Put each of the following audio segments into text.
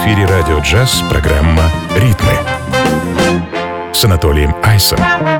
эфире «Радио Джаз» программа «Ритмы» с Анатолием Айсом.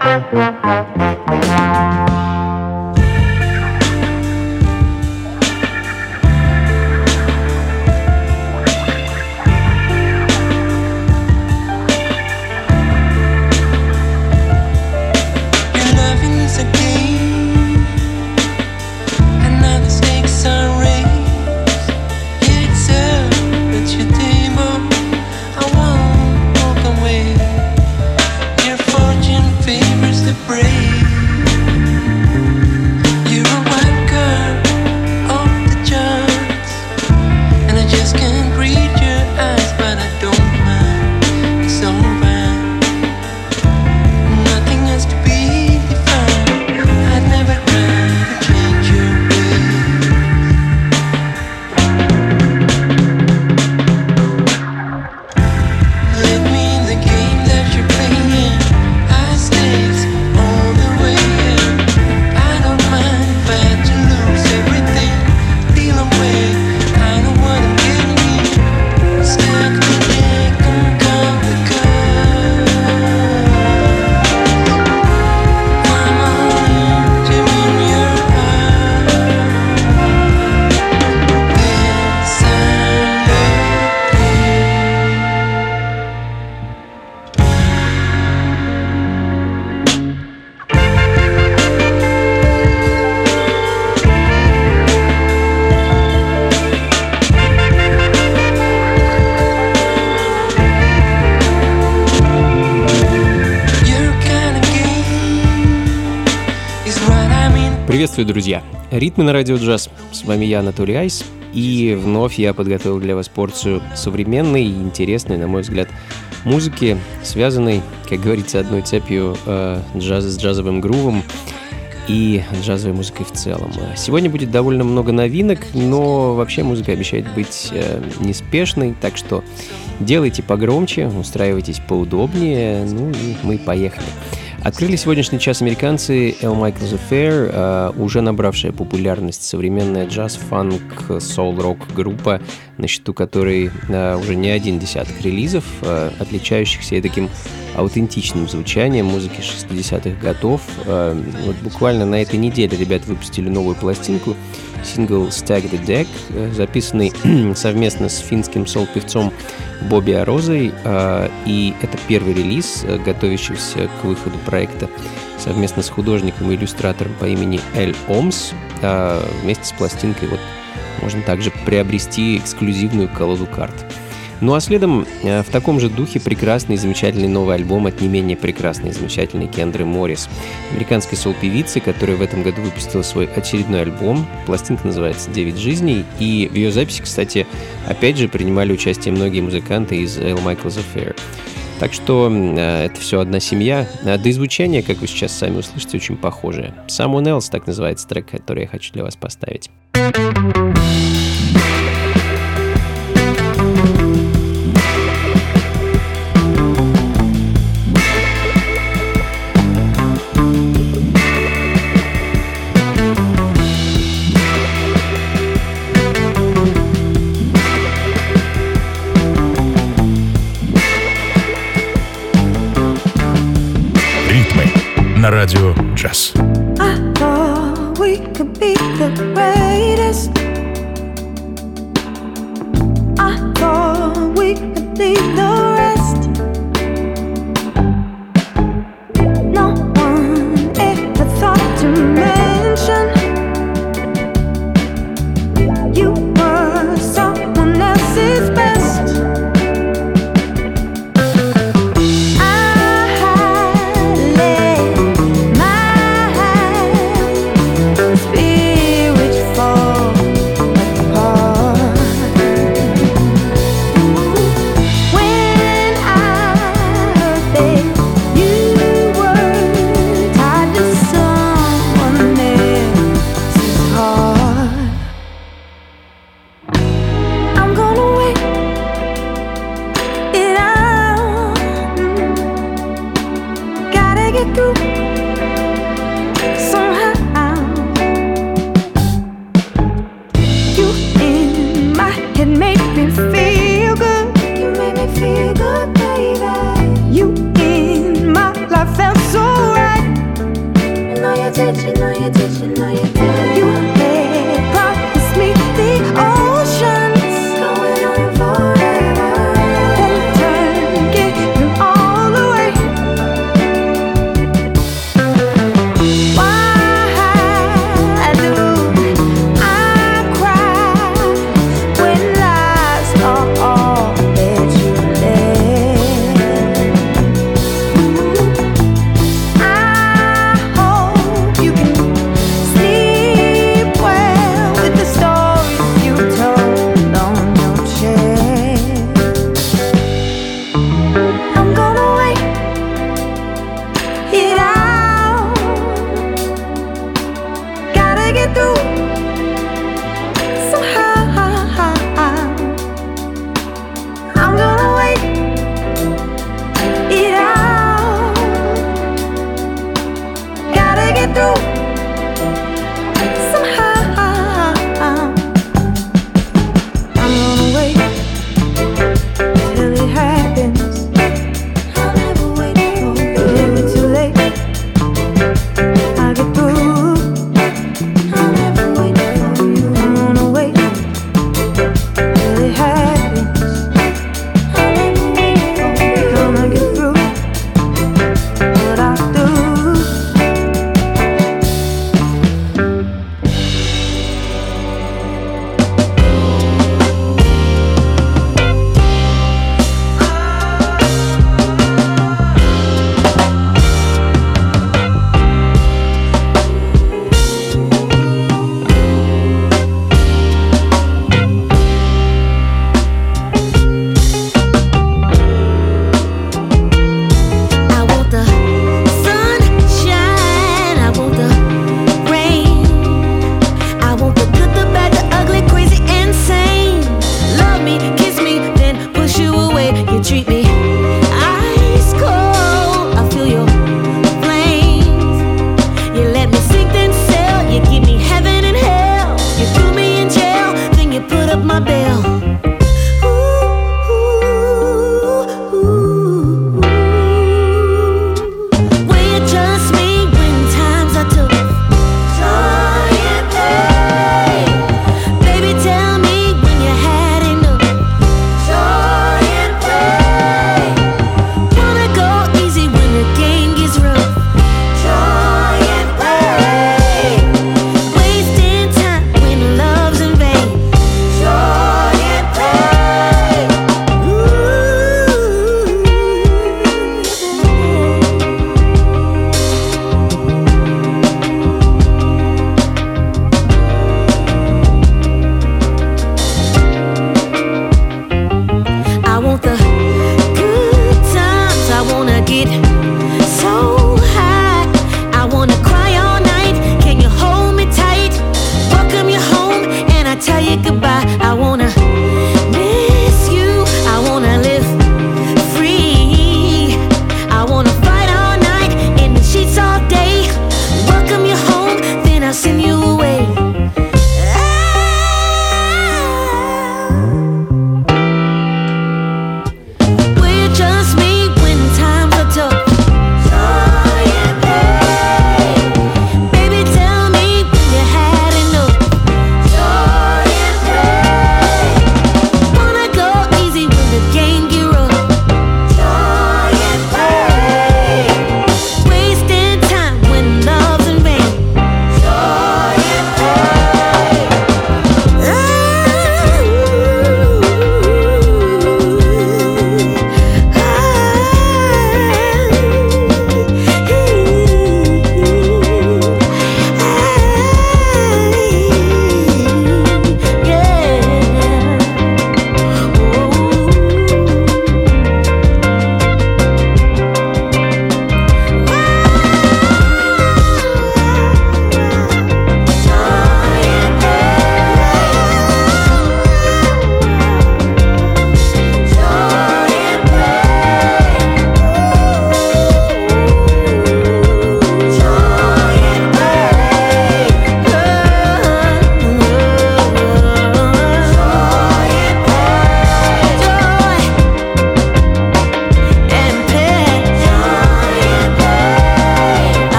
Приветствую, друзья! Ритмы на радио джаз. С вами я, Анатолий Айс. И вновь я подготовил для вас порцию современной и интересной, на мой взгляд, музыки, связанной, как говорится, одной цепью джаза с джазовым грувом и джазовой музыкой в целом. Сегодня будет довольно много новинок, но вообще музыка обещает быть неспешной, так что делайте погромче, устраивайтесь поудобнее, ну и мы поехали. Открыли сегодняшний час американцы Al Michaels Affair, уже набравшая популярность современная джаз, фанк, соул-рок группа, на счету которой уже не один десяток релизов, отличающихся и таким аутентичным звучанием музыки 60-х годов. Вот буквально на этой неделе ребята выпустили новую пластинку, сингл «Stag the Deck», записанный совместно с финским соул-певцом Бобби Арозой, и это первый релиз, готовящийся к выходу проекта совместно с художником и иллюстратором по имени Эль Омс. Вместе с пластинкой вот можно также приобрести эксклюзивную колоду карт. Ну а следом в таком же духе прекрасный и замечательный новый альбом от не менее прекрасной и замечательной Кендры Моррис, американской соул-певицы, которая в этом году выпустила свой очередной альбом. Пластинка называется «9 жизней», и в ее записи, кстати, опять же принимали участие многие музыканты из Al Michaels Affair. Так что это все одна семья. Да и звучание, как вы сейчас сами услышите, очень похожее. «Someone Else» — так называется трек, который я хочу для вас поставить. На радио джаз. I Sleep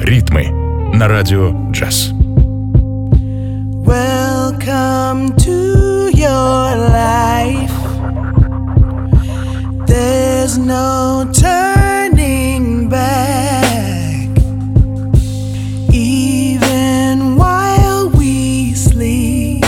Ритмы на радио «Джаз». Welcome to your life. There's no turning back. Even while we sleep,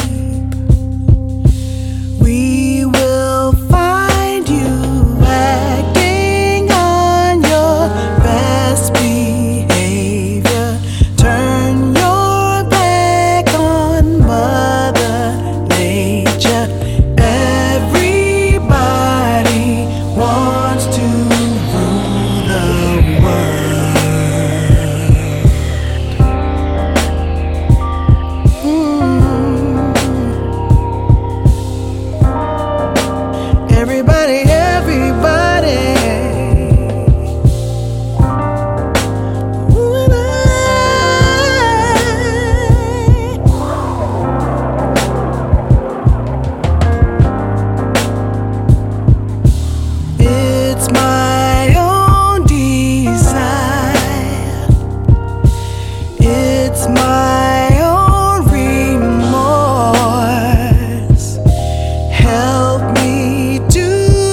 we will find you acting on your best behavior. Turn your back on Mother Nature. Everybody wants to rule the world. Everybody, everybody. It's my own desire. It's my own remorse. Help me to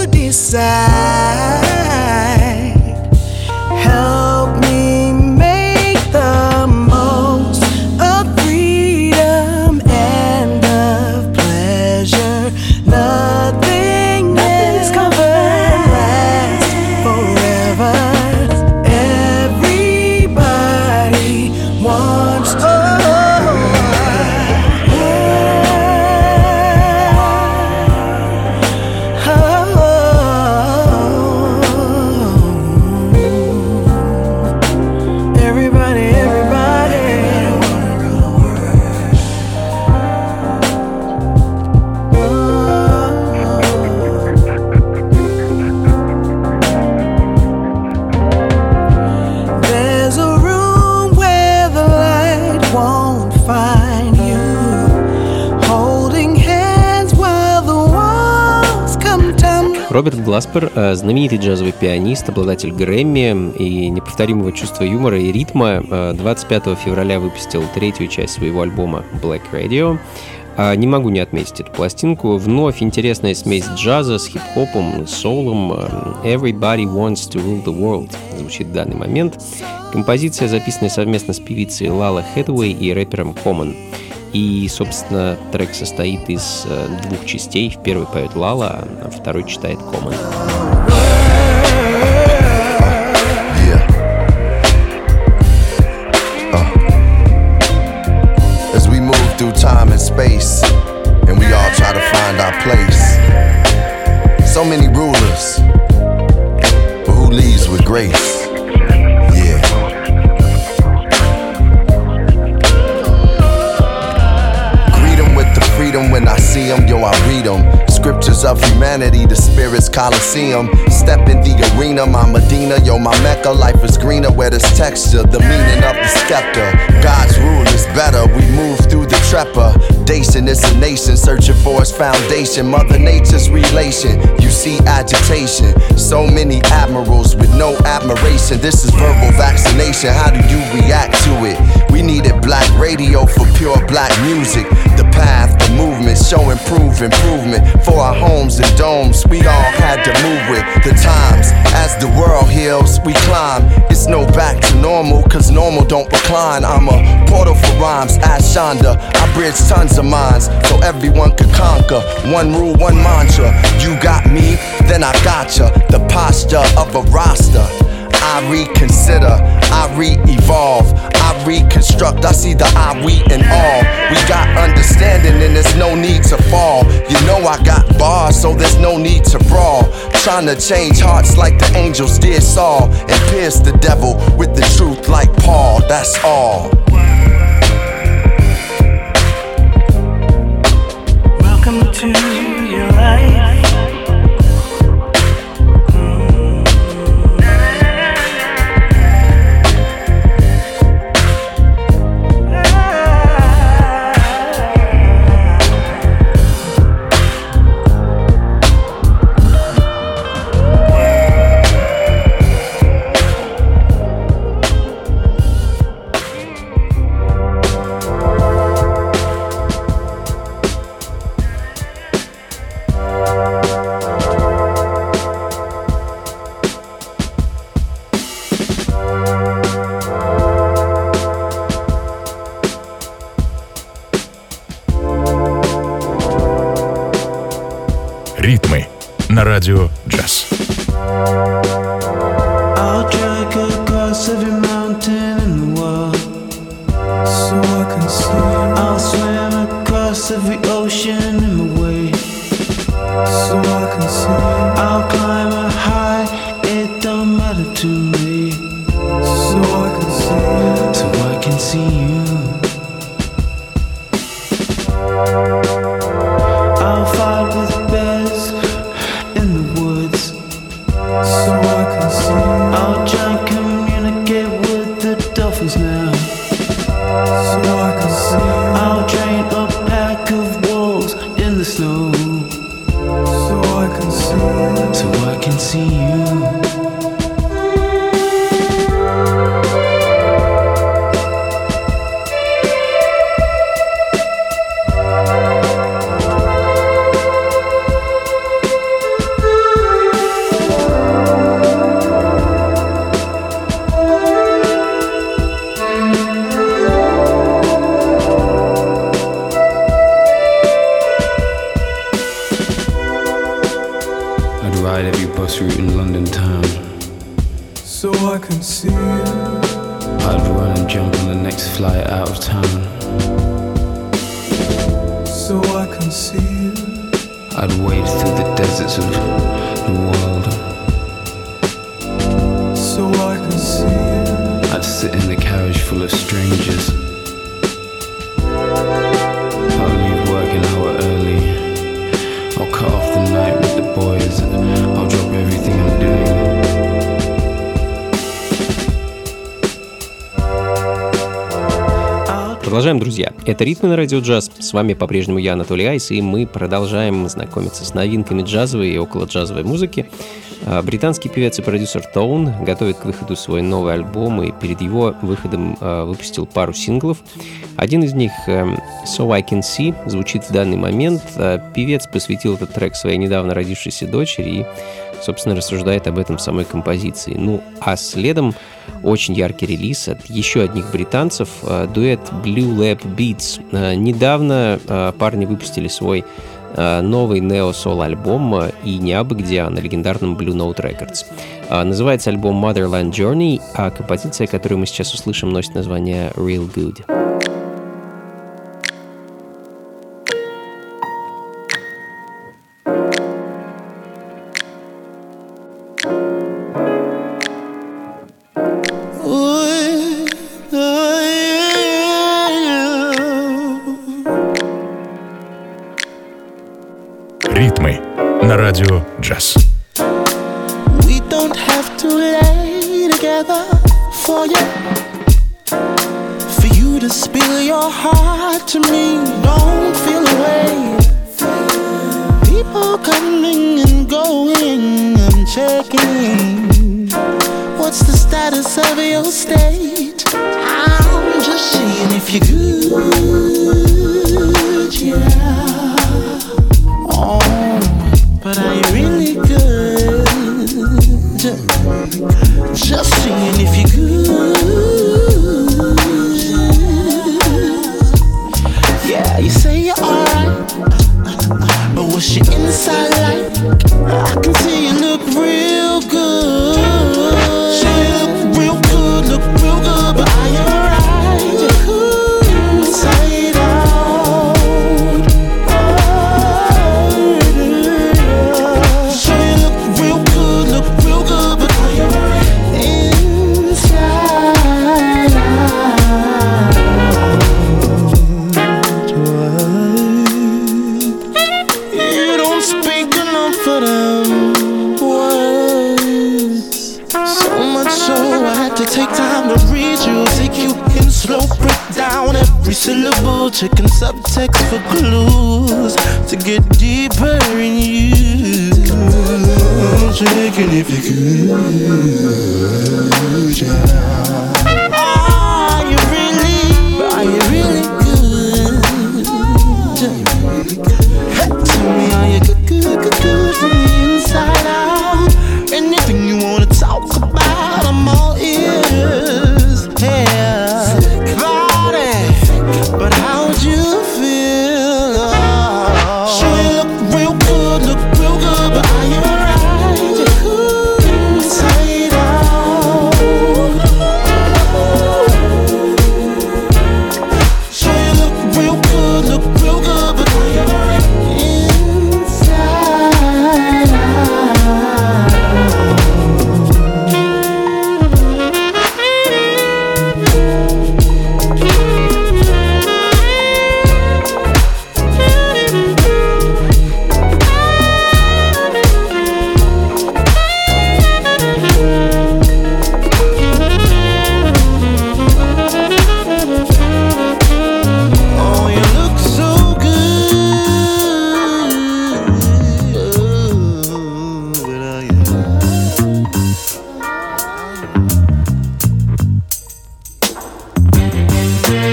decide. Help me make the most of freedom and of pleasure. Nothing is gonna last forever. Everybody wants to. Everybody, everybody. There's a room where the light won't find you. Holding hands while the walls come tumbling. Роберт Гласпер, знаменитый джазовый пианист, обладатель Грэмми и неповторимого чувства юмора и ритма, 25 февраля выпустил третью часть своего альбома Black Radio. Не могу не отметить эту пластинку. Вновь интересная смесь джаза с хип-хопом, соулом. Everybody wants to rule the world звучит в данный момент. Композиция записана совместно с певицей Лала Хэтэуэй и рэпером Common. И, собственно, трек состоит из двух частей. В первой поет Лала, а второй читает Common. As we move through time and space, and we all try to find our place. So many rulers, but who leads with grace? Yeah. Greet 'em with the freedom when I see 'em, yo, I read 'em. Scriptures of humanity, the spirit's coliseum. Step in the arena, my Medina, yo, my Mecca. Life is greener where there's texture, the meaning of the scepter. God's rule is better, we move through the trepidation. It's a nation searching for its foundation. Mother Nature's relation, you see agitation. So many admirals with no admiration. This is verbal vaccination, how do you react to it? We needed black radio for pure black music. The path, the movement, show improvement. For our homes and domes, we all had to move with the times. As the world heals, we climb. It's no back to normal, cause normal don't recline. I'm a portal for rhymes, ask Shonda. I bridge tons of minds, so everyone could conquer. One rule, one mantra. You got me, then I gotcha. The posture of a roster. I reconsider, I re-evolve, I reconstruct. I see the I, we, and all. We got understanding and there's no need to fall. You know I got bars, so there's no need to brawl. Trying to change hearts like the angels did Saul, and pierce the devil with the truth like Paul. That's all. Welcome to your life. на радио «Джаз». I'll trek across every mountain in the world so I can see you. I'll swim across every ocean in my way so I can see you. I'll climb a high, it don't matter to me so I can see you. So I can see you. I'll fight with bears in the woods so I can see you. I'll try and communicate with the dolphins now so I can see you. I'll train a pack of wolves in the snow so I can see you. So I can see you. Route in London town so I can see you. I'd run and jump on the next flight out of town so I can see you. I'd wade through the deserts of the world so I can see you. I'd sit in the carriage full of strangers. I'll leave work an hour early. I'll cut off the night with the boys. I'll drop everything I'm doing. Продолжаем, друзья. Это «Ритмы на радио джаз». С вами по-прежнему я, Анатолий Айс, и мы продолжаем знакомиться с новинками джазовой и около-джазовой музыки. Британский певец и продюсер Tone готовит к выходу свой новый альбом, и перед его выходом выпустил пару синглов. Один из них, So I Can See, звучит в данный момент. Певец посвятил этот трек своей недавно родившейся дочери и, собственно, рассуждает об этом в самой композиции. Ну, а следом очень яркий релиз от еще одних британцев, дуэт Blue Lab Beats. Недавно парни выпустили свой новый нео-сол альбом, и не абы где, а на легендарном Blue Note Records. Называется альбом Motherland Journey, а композиция, которую мы сейчас услышим, носит название Real Good. Ритмы на радио «Джаз». We don't have to lay together for you to spill your heart to me. Don't feel away. People coming and going, I'm checking. What's the status of your state? I'm just seeing if you're good, yeah. Oh, but are you really good? Just seeing if you're good. Yeah, you say you're alright, but what's your inside like? I can see you look real good. Look real good, but are you alright? Inside out. So you look real good, but are you inside out? You don't speak enough for them words. So much so I had to take time to read you, take you in slow, break down every syllable, checking subtext for clues to get deeper in you. Checking if you could, yeah. Are you really good? Hey, tell me, are you good from the inside out? Anything you wanna talk about, I'm all ears. Yeah, body, but how'd you feel? Sure you look real good, but are you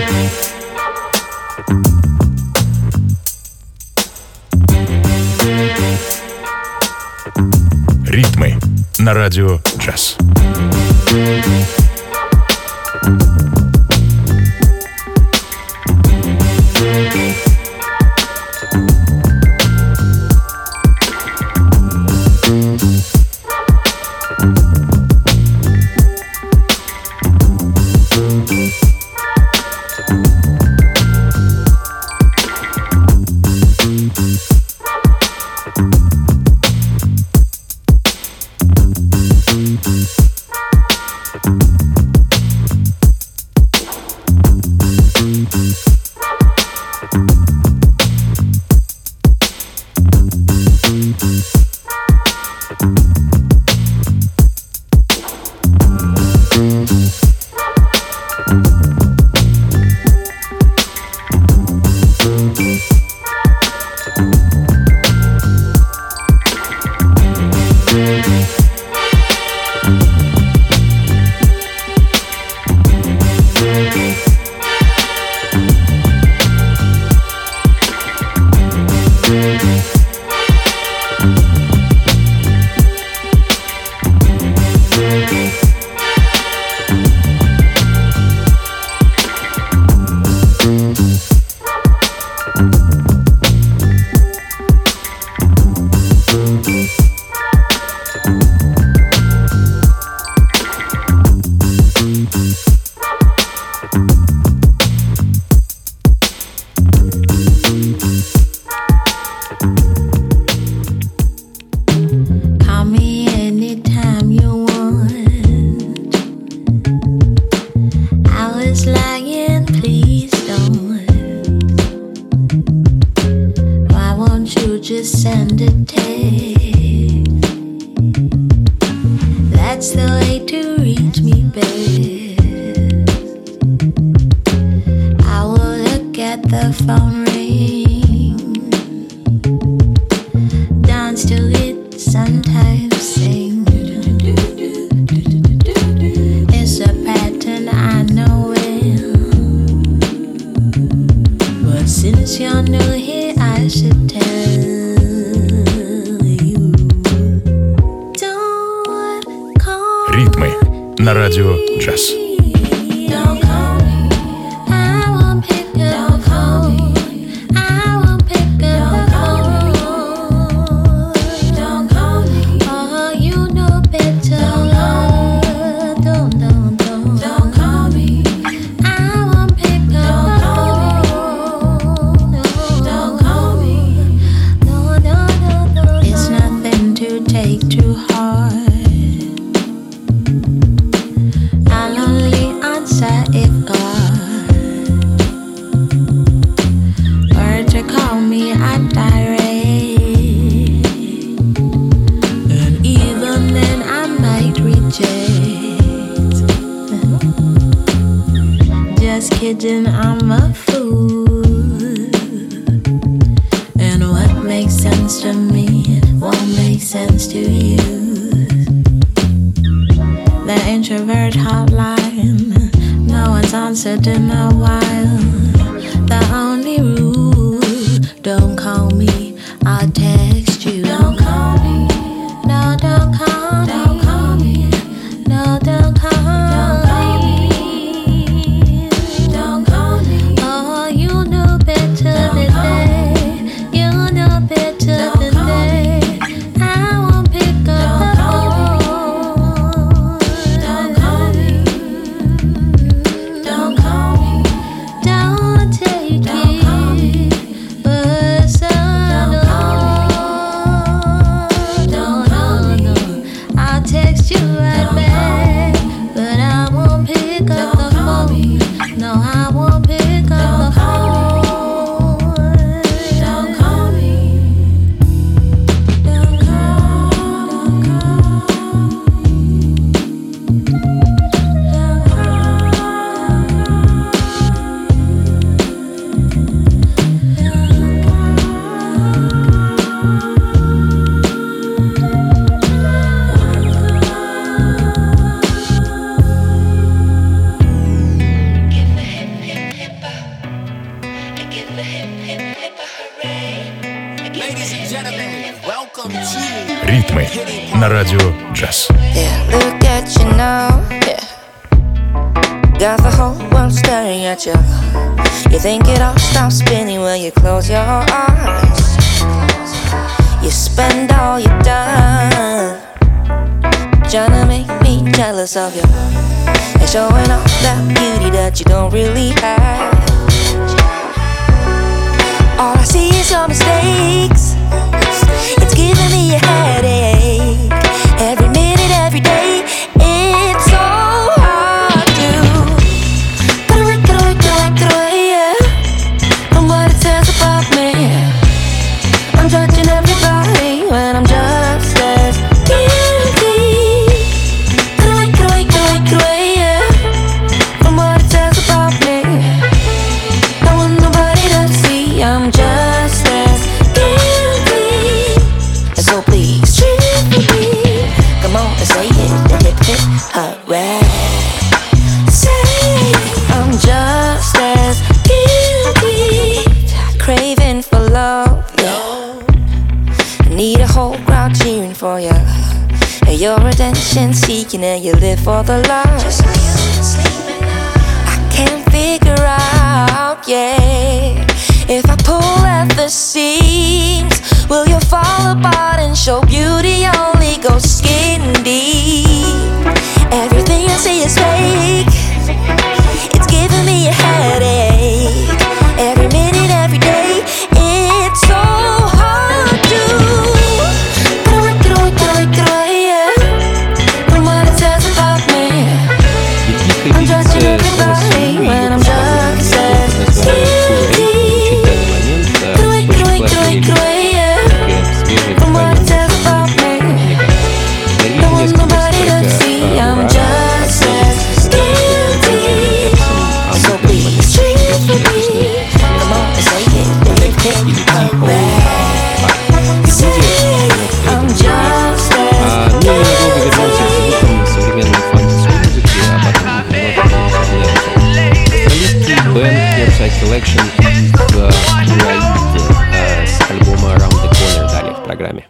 Ритмы на радио «Джаз». Ритмы на радио «Джаз». Kidding, I'm a fool. And what makes sense to me won't make sense to you. The introvert hotline, no one's answered in a while. The only rule, don't call me, I'll text you. Don't call me, no, don't call me. Don't call me, no, don't call me. Don't take it. Ритмы на радио Джаз. Look at you now, got the whole world staring at you. You think it all stops spinning when you close your eyes. You spend all your time trying to make me jealous of you and showing off that beauty that you don't really have. All I see is your mistakes. It's giving me a headache. Every minute, every day, it's so hard to get away, yeah, from what it says about me. I'm judging everybody when I'm just as guilty. Get away, yeah, from what it says about me. I want nobody to see I'm just as guilty. And so please treat me. Come on and say it, hip hip hooray. Say I'm just as guilty. Craving for love, yeah. Need a whole crowd cheering for you. And you're attention seeking and you live for the love. I can't figure out, yeah, if I pull at the seams, will you fall apart and show beauty only goes skin deep? Everything I see is fake. It's giving me a headache. Every minute, every day, it's so hard to get away, yeah, from what it says about me. I'm judging everybody when I'm just as guilty. Get away, yeah, from what it says about me. I want nobody to see I'm just as guilty. So please treat me. Come on and say it, hip hip hooray. Say I'm just as Ну и ненадолго вернемся к звукам современной фанк-музыки, а потом австралийский бенд Airside Collection из Ураиды с альбома Around the Corner далее в программе.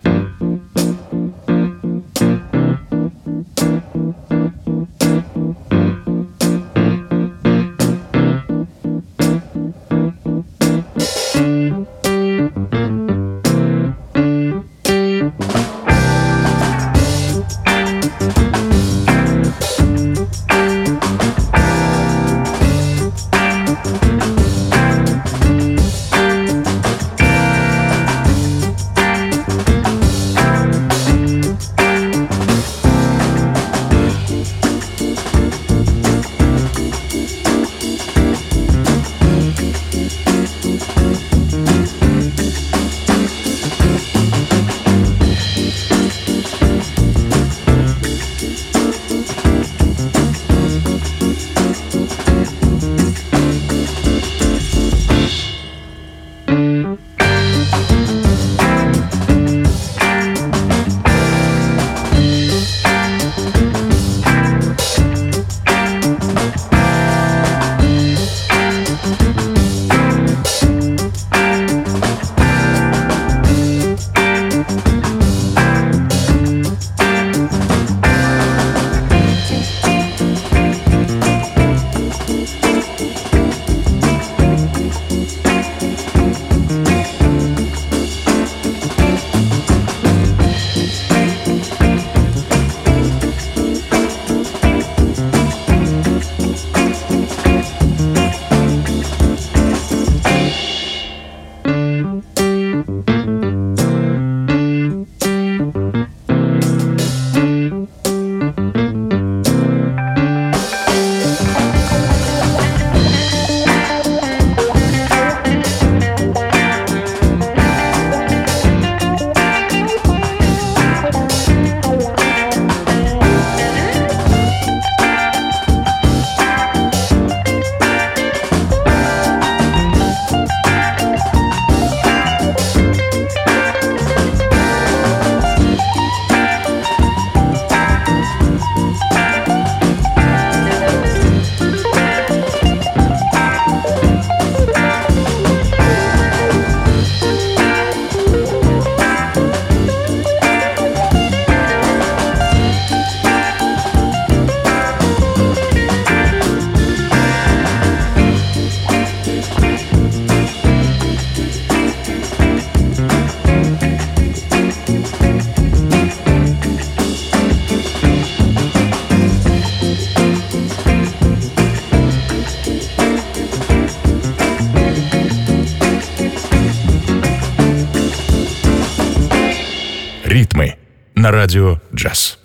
на радио «Джаз».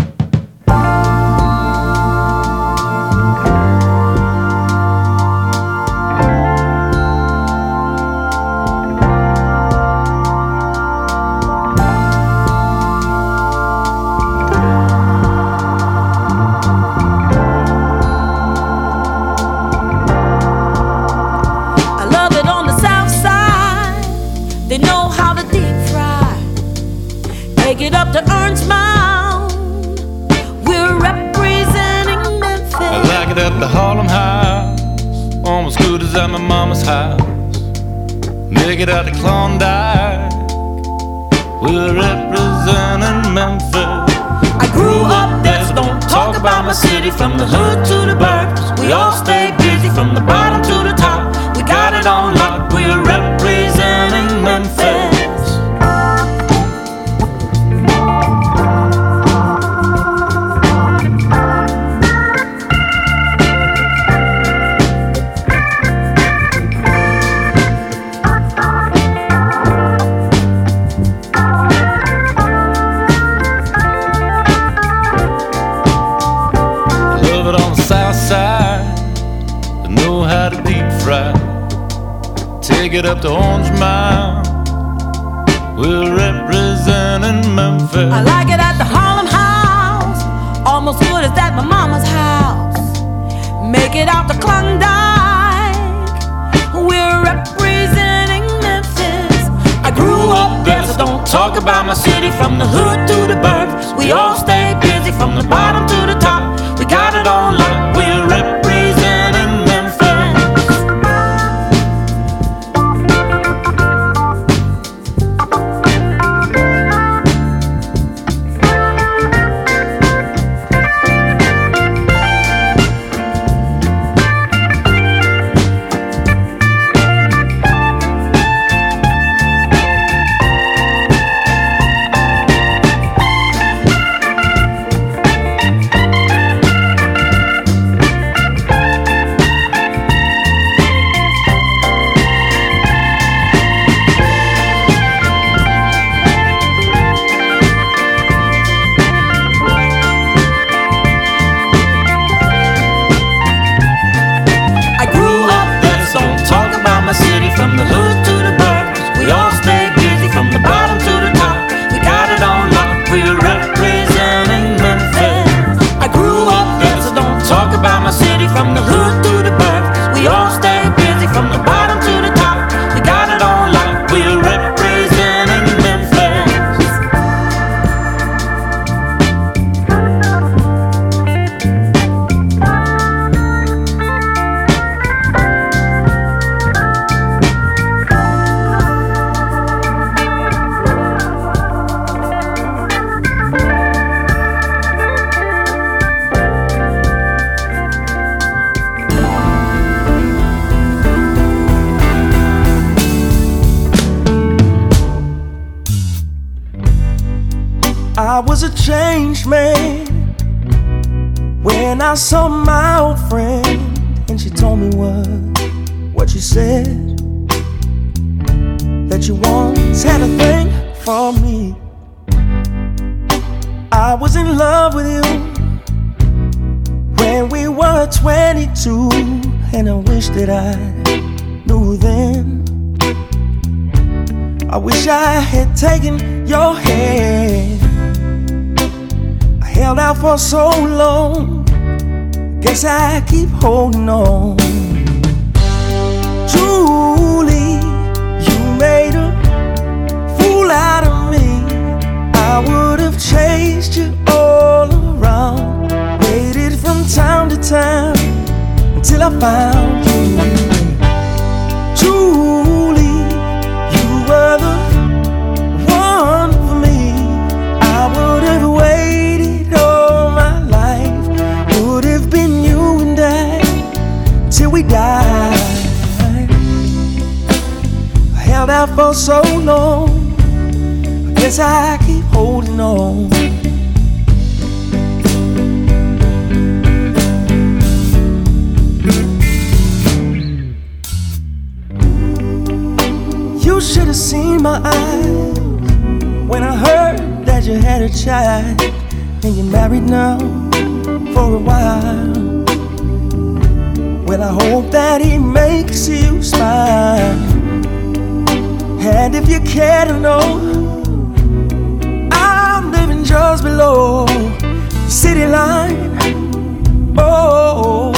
At the Harlem House, almost good as at my mama's house. Make it out to Klondike, we're representing Memphis. I grew up there, so don't talk about my city. From the hood to the burbs, we all stay busy. From the bottom to the top, we got it on lock. We're representing Memphis. Take it up to Orange Mound, we're representing Memphis. I like it at the Harlem House, almost good as at my mama's house. Make it out to Klondike, we're representing Memphis. I grew up there, so don't talk about my city. From the hood to the burbs, we all stay busy. From the bottom to the top, we got it on lock. We're representing Memphis. From the hood to the burbs, we all stay busy. From the bottom to the top, we got it on lock. We're representing Memphis. I grew up there, so don't talk about my city. From the hood to the burbs, we all stay busy. From the bottom to the top, we got it on lock. We're representing Memphis. I was a changed man when I saw my old friend, and she told me what you said, that you once had a thing for me. I was in love with you when we were 22, and I wish that I knew then. I wish I had taken your hand. Held out for so long, guess I keep holding on. Julie, you made a fool out of me. I would have chased you all around, waited from time to time until I found you. Julie, you were the one for me. I would have waited till we died. I held out for so long, I guess I keep holding on. You should have seen my eyes when I heard that you had a a child, and you're married now for a while. Well, I hope that he makes you smile. And if you care to know, I'm living just below the city line. Oh,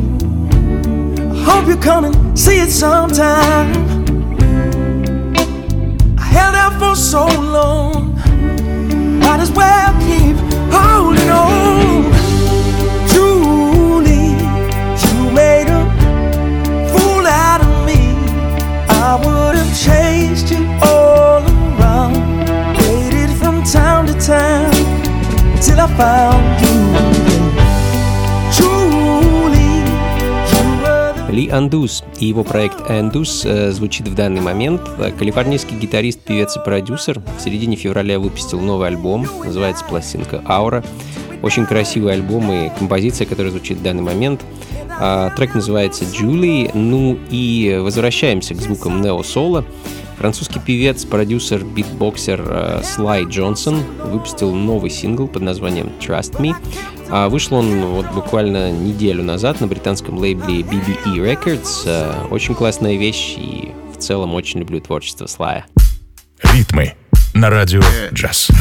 I hope you come and see it sometime. I held out for so long, might as well keep holding on. Julie, you made a fool out of me. I would have chased you all around, waited from town to town till I found you. Ли Андус и его проект Андус звучит в данный момент. Калифорнийский гитарист, певец и продюсер в середине февраля выпустил новый альбом, называется пластинка «Аура». Очень красивый альбом и композиция, которая звучит в данный момент. Трек называется «Julie». Ну и возвращаемся к звукам нео-соло. Французский певец, продюсер, битбоксер Слай Джонсон выпустил новый сингл под названием «Trust Me». Вышел он вот буквально неделю назад на британском лейбле BBE Records. Очень классная вещь, и в целом очень люблю творчество Слая. Ритмы на радио «Джаз».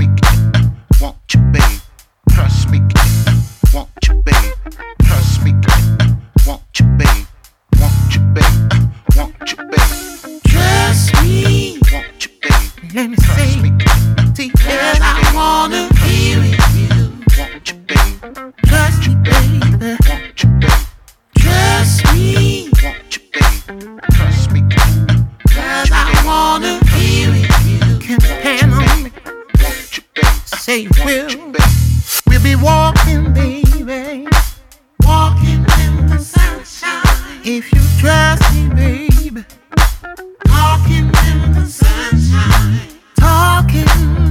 Let me say, yes, I wanna be with you. Trust me, baby. Trust me. Trust me. 'Cause I wanna be with you. Can depend on me. Say you will. We'll be walking, baby. Walking in the sunshine. If you trust me, baby. Walking in the sunshine. Talking,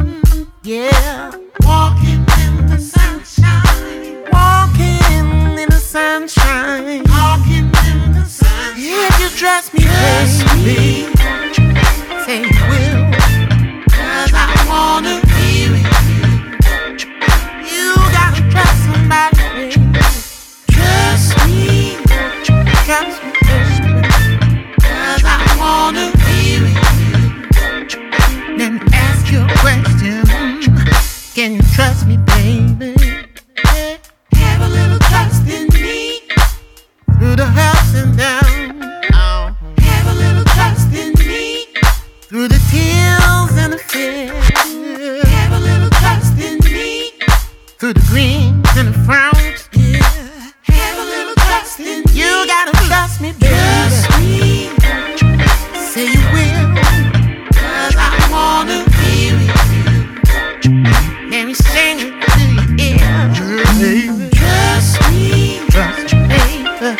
yeah. Walking in the sunshine. Walking in the sunshine. Walking in the sunshine. If you trust me, baby, say you will. 'Cause I wanna be with you. You gotta trust somebody, baby. Trust me. Trust me, baby. 'Cause I wanna be with you. Let me ask you a question. Can you trust me, baby? Have a little trust in me through the ups and downs. Have a little trust in me through the tears and the fears. Have a little trust in me through the greens and the frowns. Yeah. Have a little trust in me. You gotta trust me, baby. Trust me. Say you will. 'Cause I wanna be with you. Let me sing it to your ear, baby. Trust me, trust me, baby.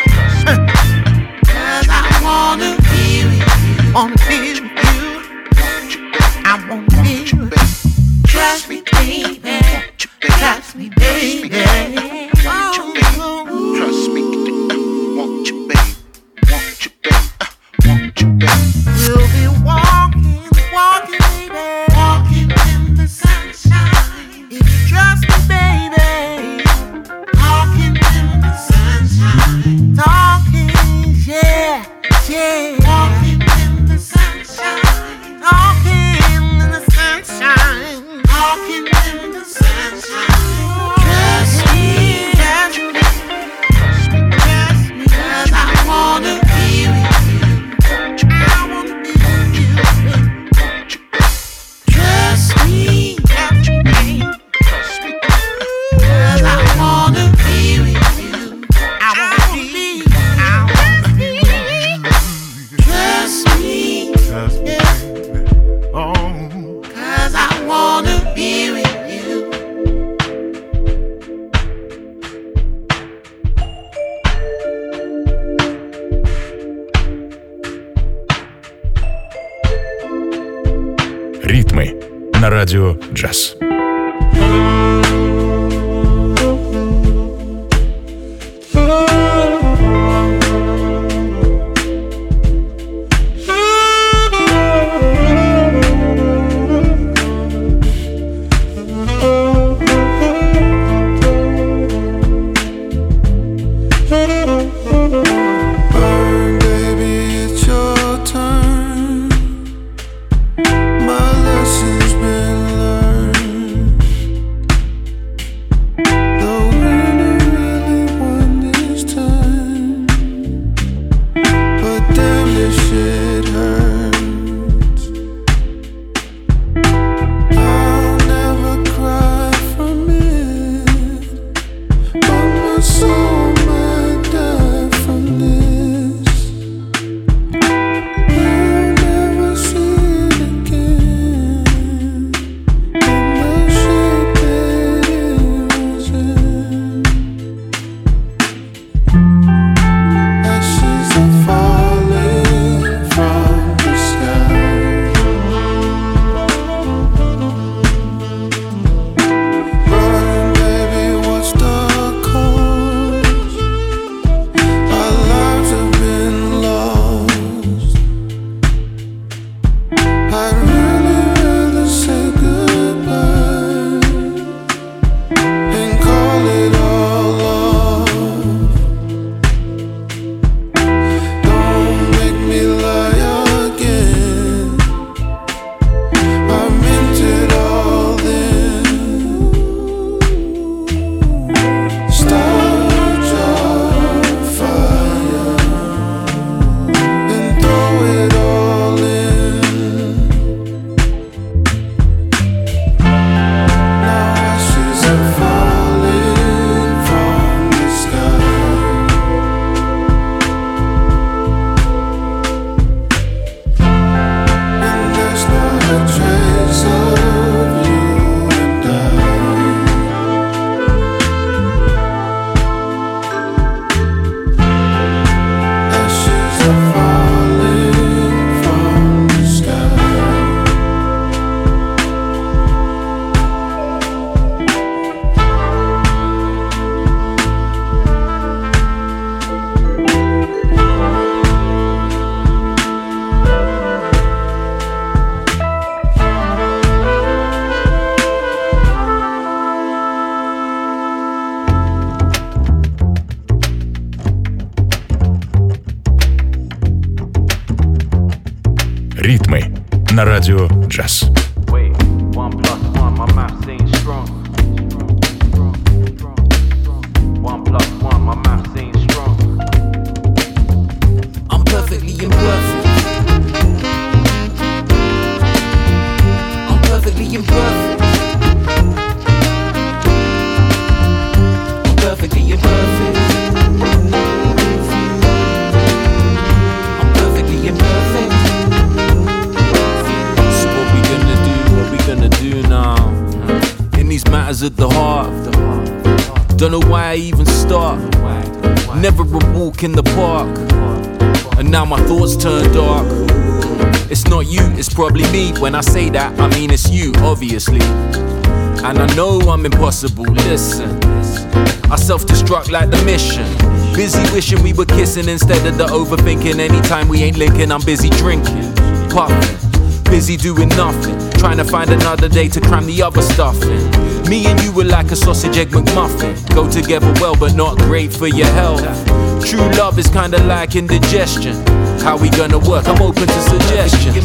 'Cause I wanna be with you. Wanna be with you. I wanna be with you. Trust me, baby. Trust me, baby. Trust me, want you, baby. Want you, baby. Want you, baby. We'll be walking, baby. Walking in the sunshine. If you trust me, baby. Walking in the sunshine. Talking, yeah, yeah. Walking in the sunshine. Talking in the sunshine. Walking in the sunshine. Trust me, trust me. Trust me, trust me. 'Cause I wanna be with you. I wanna be with you. Trust me, trust me. Trust me. 'Cause I wanna be with you. I wanna be with you. Trust me. Trust me. Oh. 'Cause I wanna be with you. Ритмы на радио «Джаз». shit hurts. I'll never cry from it, but my soul might die from this. I'll never see it again in the shape that it was in. Ashes are falling from the sky. Run, baby, what's the cause? Our lives have been lost. I'd really rather say goodbye and call it all off. Don't make me lie again. I meant it all then. Start your fire and throw it all in. Now ashes are falling from the sky. And there's not a trace of you and I. Ashes are falling from the sky. Ритмы на радио «Джаз». Wait, 1 + 1, my math ain't strong. 1 + 1, my math ain't strong. I'm perfectly imperfect. I'm perfectly imperfect. I'm perfectly imperfect. I'm perfectly imperfect. So what we gonna do? What we gonna do now? In these matters at the heart. Don't know why I even start. Never a walk in the park. And now my thoughts turn dark. It's not you, it's probably me. When I say that, I mean it's you, obviously. And I know I'm impossible, listen. I self-destruct like the mission. Busy wishing we were kissing instead of the overthinking. Anytime we ain't linking, I'm busy drinking, puffing, busy doing nothing, trying to find another day to cram the other stuff in. Me and you were like a sausage egg McMuffin. Go together well, but not great for your health. True love is kinda like indigestion. How we gonna work? I'm open to suggestions.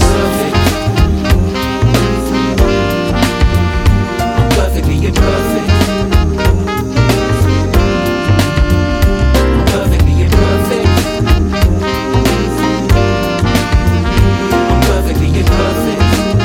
I'm perfectly imperfect. I'm perfectly imperfect. I'm perfectly imperfect.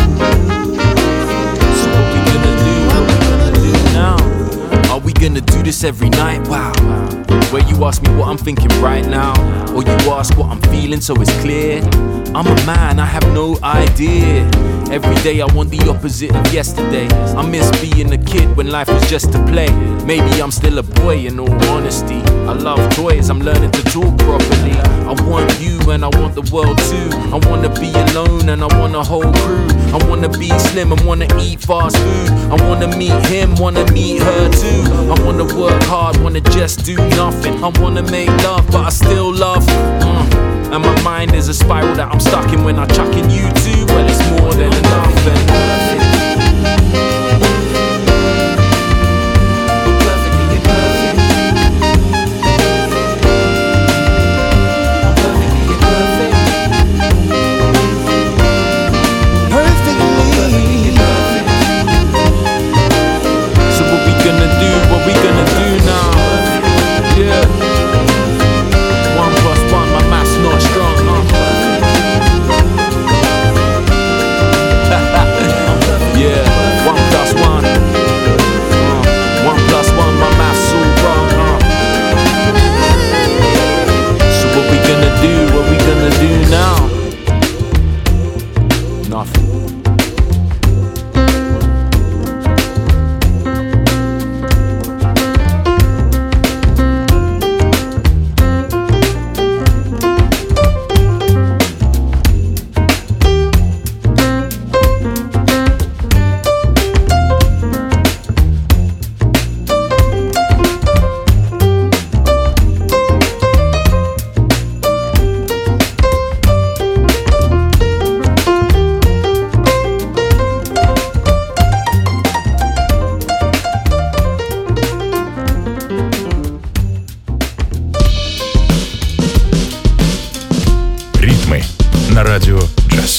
So what we gonna do? What we gonna do now? Are we gonna do this every night? Wow. Where you ask me what I'm thinking right now, or you ask what I'm feeling so it's clear. I'm a man, I have no idea. Every day I want the opposite of yesterday. I miss being a kid when life was just to play. Maybe I'm still a boy in all honesty. I love toys, I'm learning to talk properly. I want you and I want the world too. I wanna be alone and I want a whole crew. I wanna be slim and wanna eat fast food. I wanna meet him, wanna meet her too. I wanna work hard, wanna just do nothing. I wanna make love, but I still love. And my mind is a spiral that I'm stuck in when I'm chucking you too. Well, it's more than enough. на радио «Джаз».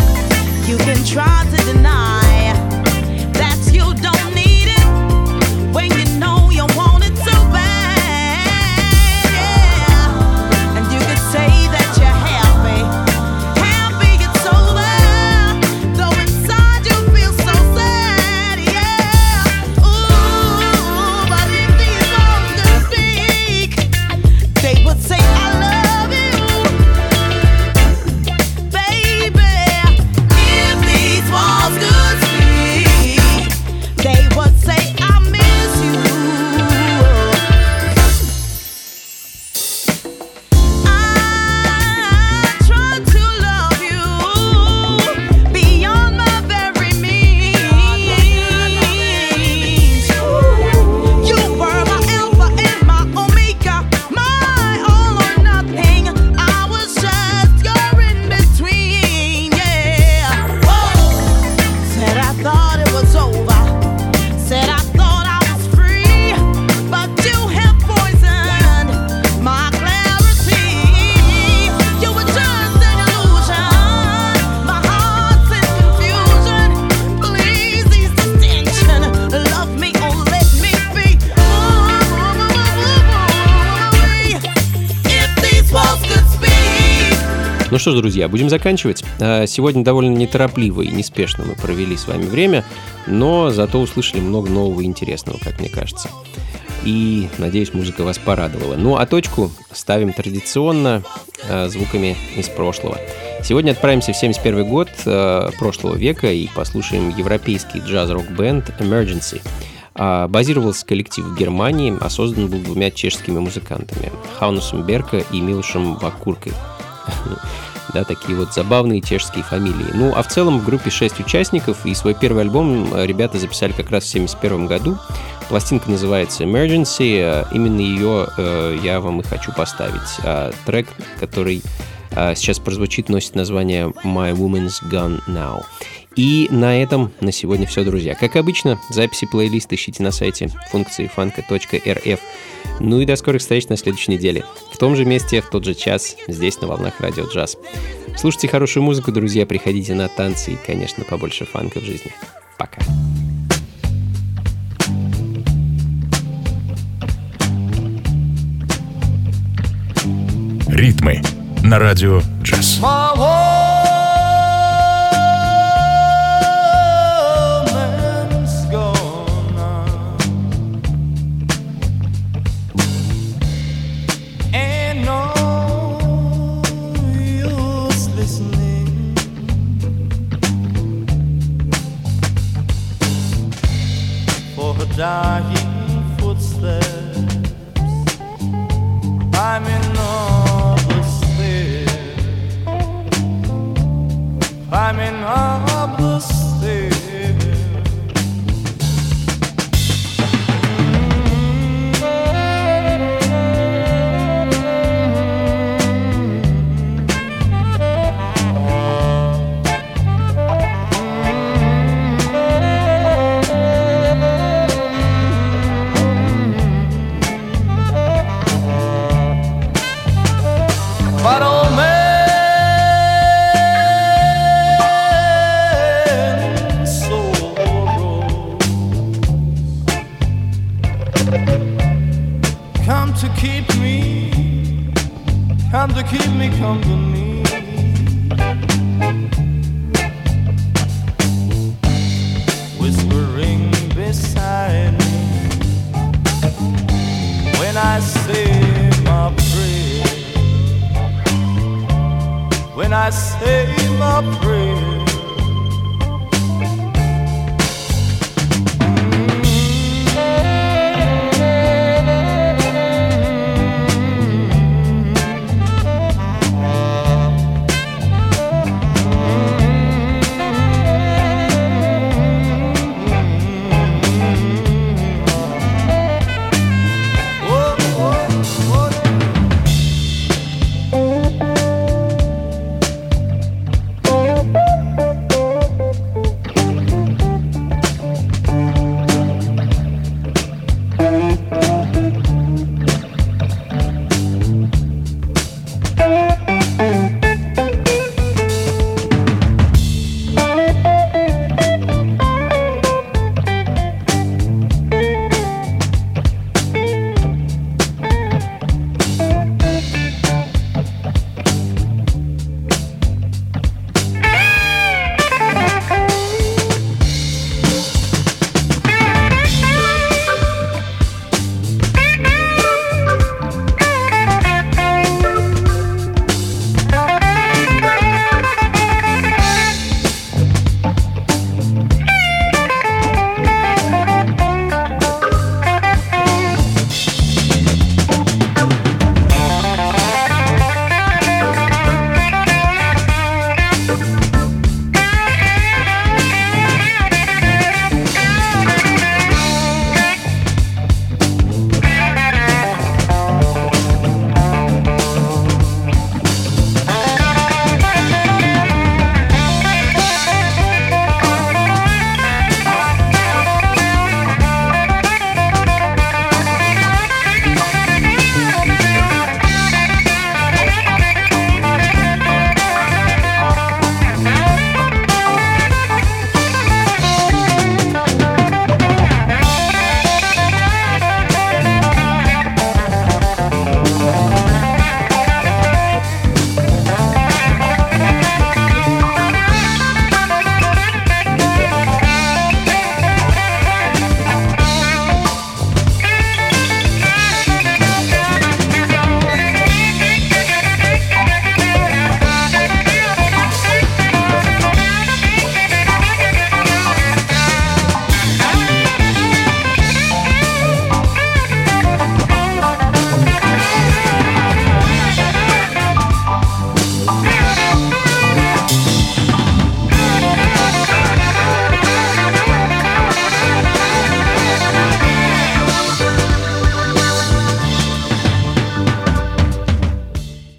Try to deny that you don't need it. что ж, друзья, будем заканчивать. Сегодня довольно неторопливо и неспешно мы провели с вами время, но зато услышали много нового и интересного, как мне кажется. И, надеюсь, музыка вас порадовала. Ну, а точку ставим традиционно звуками из прошлого. Сегодня отправимся в 1971 год прошлого века и послушаем европейский джаз-рок-бенд Emergency. Базировался коллектив в Германии, а создан был двумя чешскими музыкантами Хаунусом Берка и Милошем Вакуркой. Да, такие вот забавные чешские фамилии. Ну, а в целом в группе 6 участников, и свой первый альбом ребята записали как раз в 1971 году. Пластинка называется Emergency, именно ее я вам и хочу поставить. Трек, который сейчас прозвучит, носит название My Woman's Gone Now. И на этом на сегодня все, друзья. Как обычно, записи плейлиста ищите на сайте функции фанка.рф. Ну и до скорых встреч на следующей неделе. В том же месте, в тот же час, здесь на волнах Радио Джаз. Слушайте хорошую музыку, друзья, приходите на танцы и, конечно, побольше фанка в жизни. Пока. Ритмы на Радио Джаз. Dying footsteps, I'm in other stairs, I'm in other stairs. But old man, sorrow, come to keep me company. Whispering beside me when I say my prayer. When I say my prayer.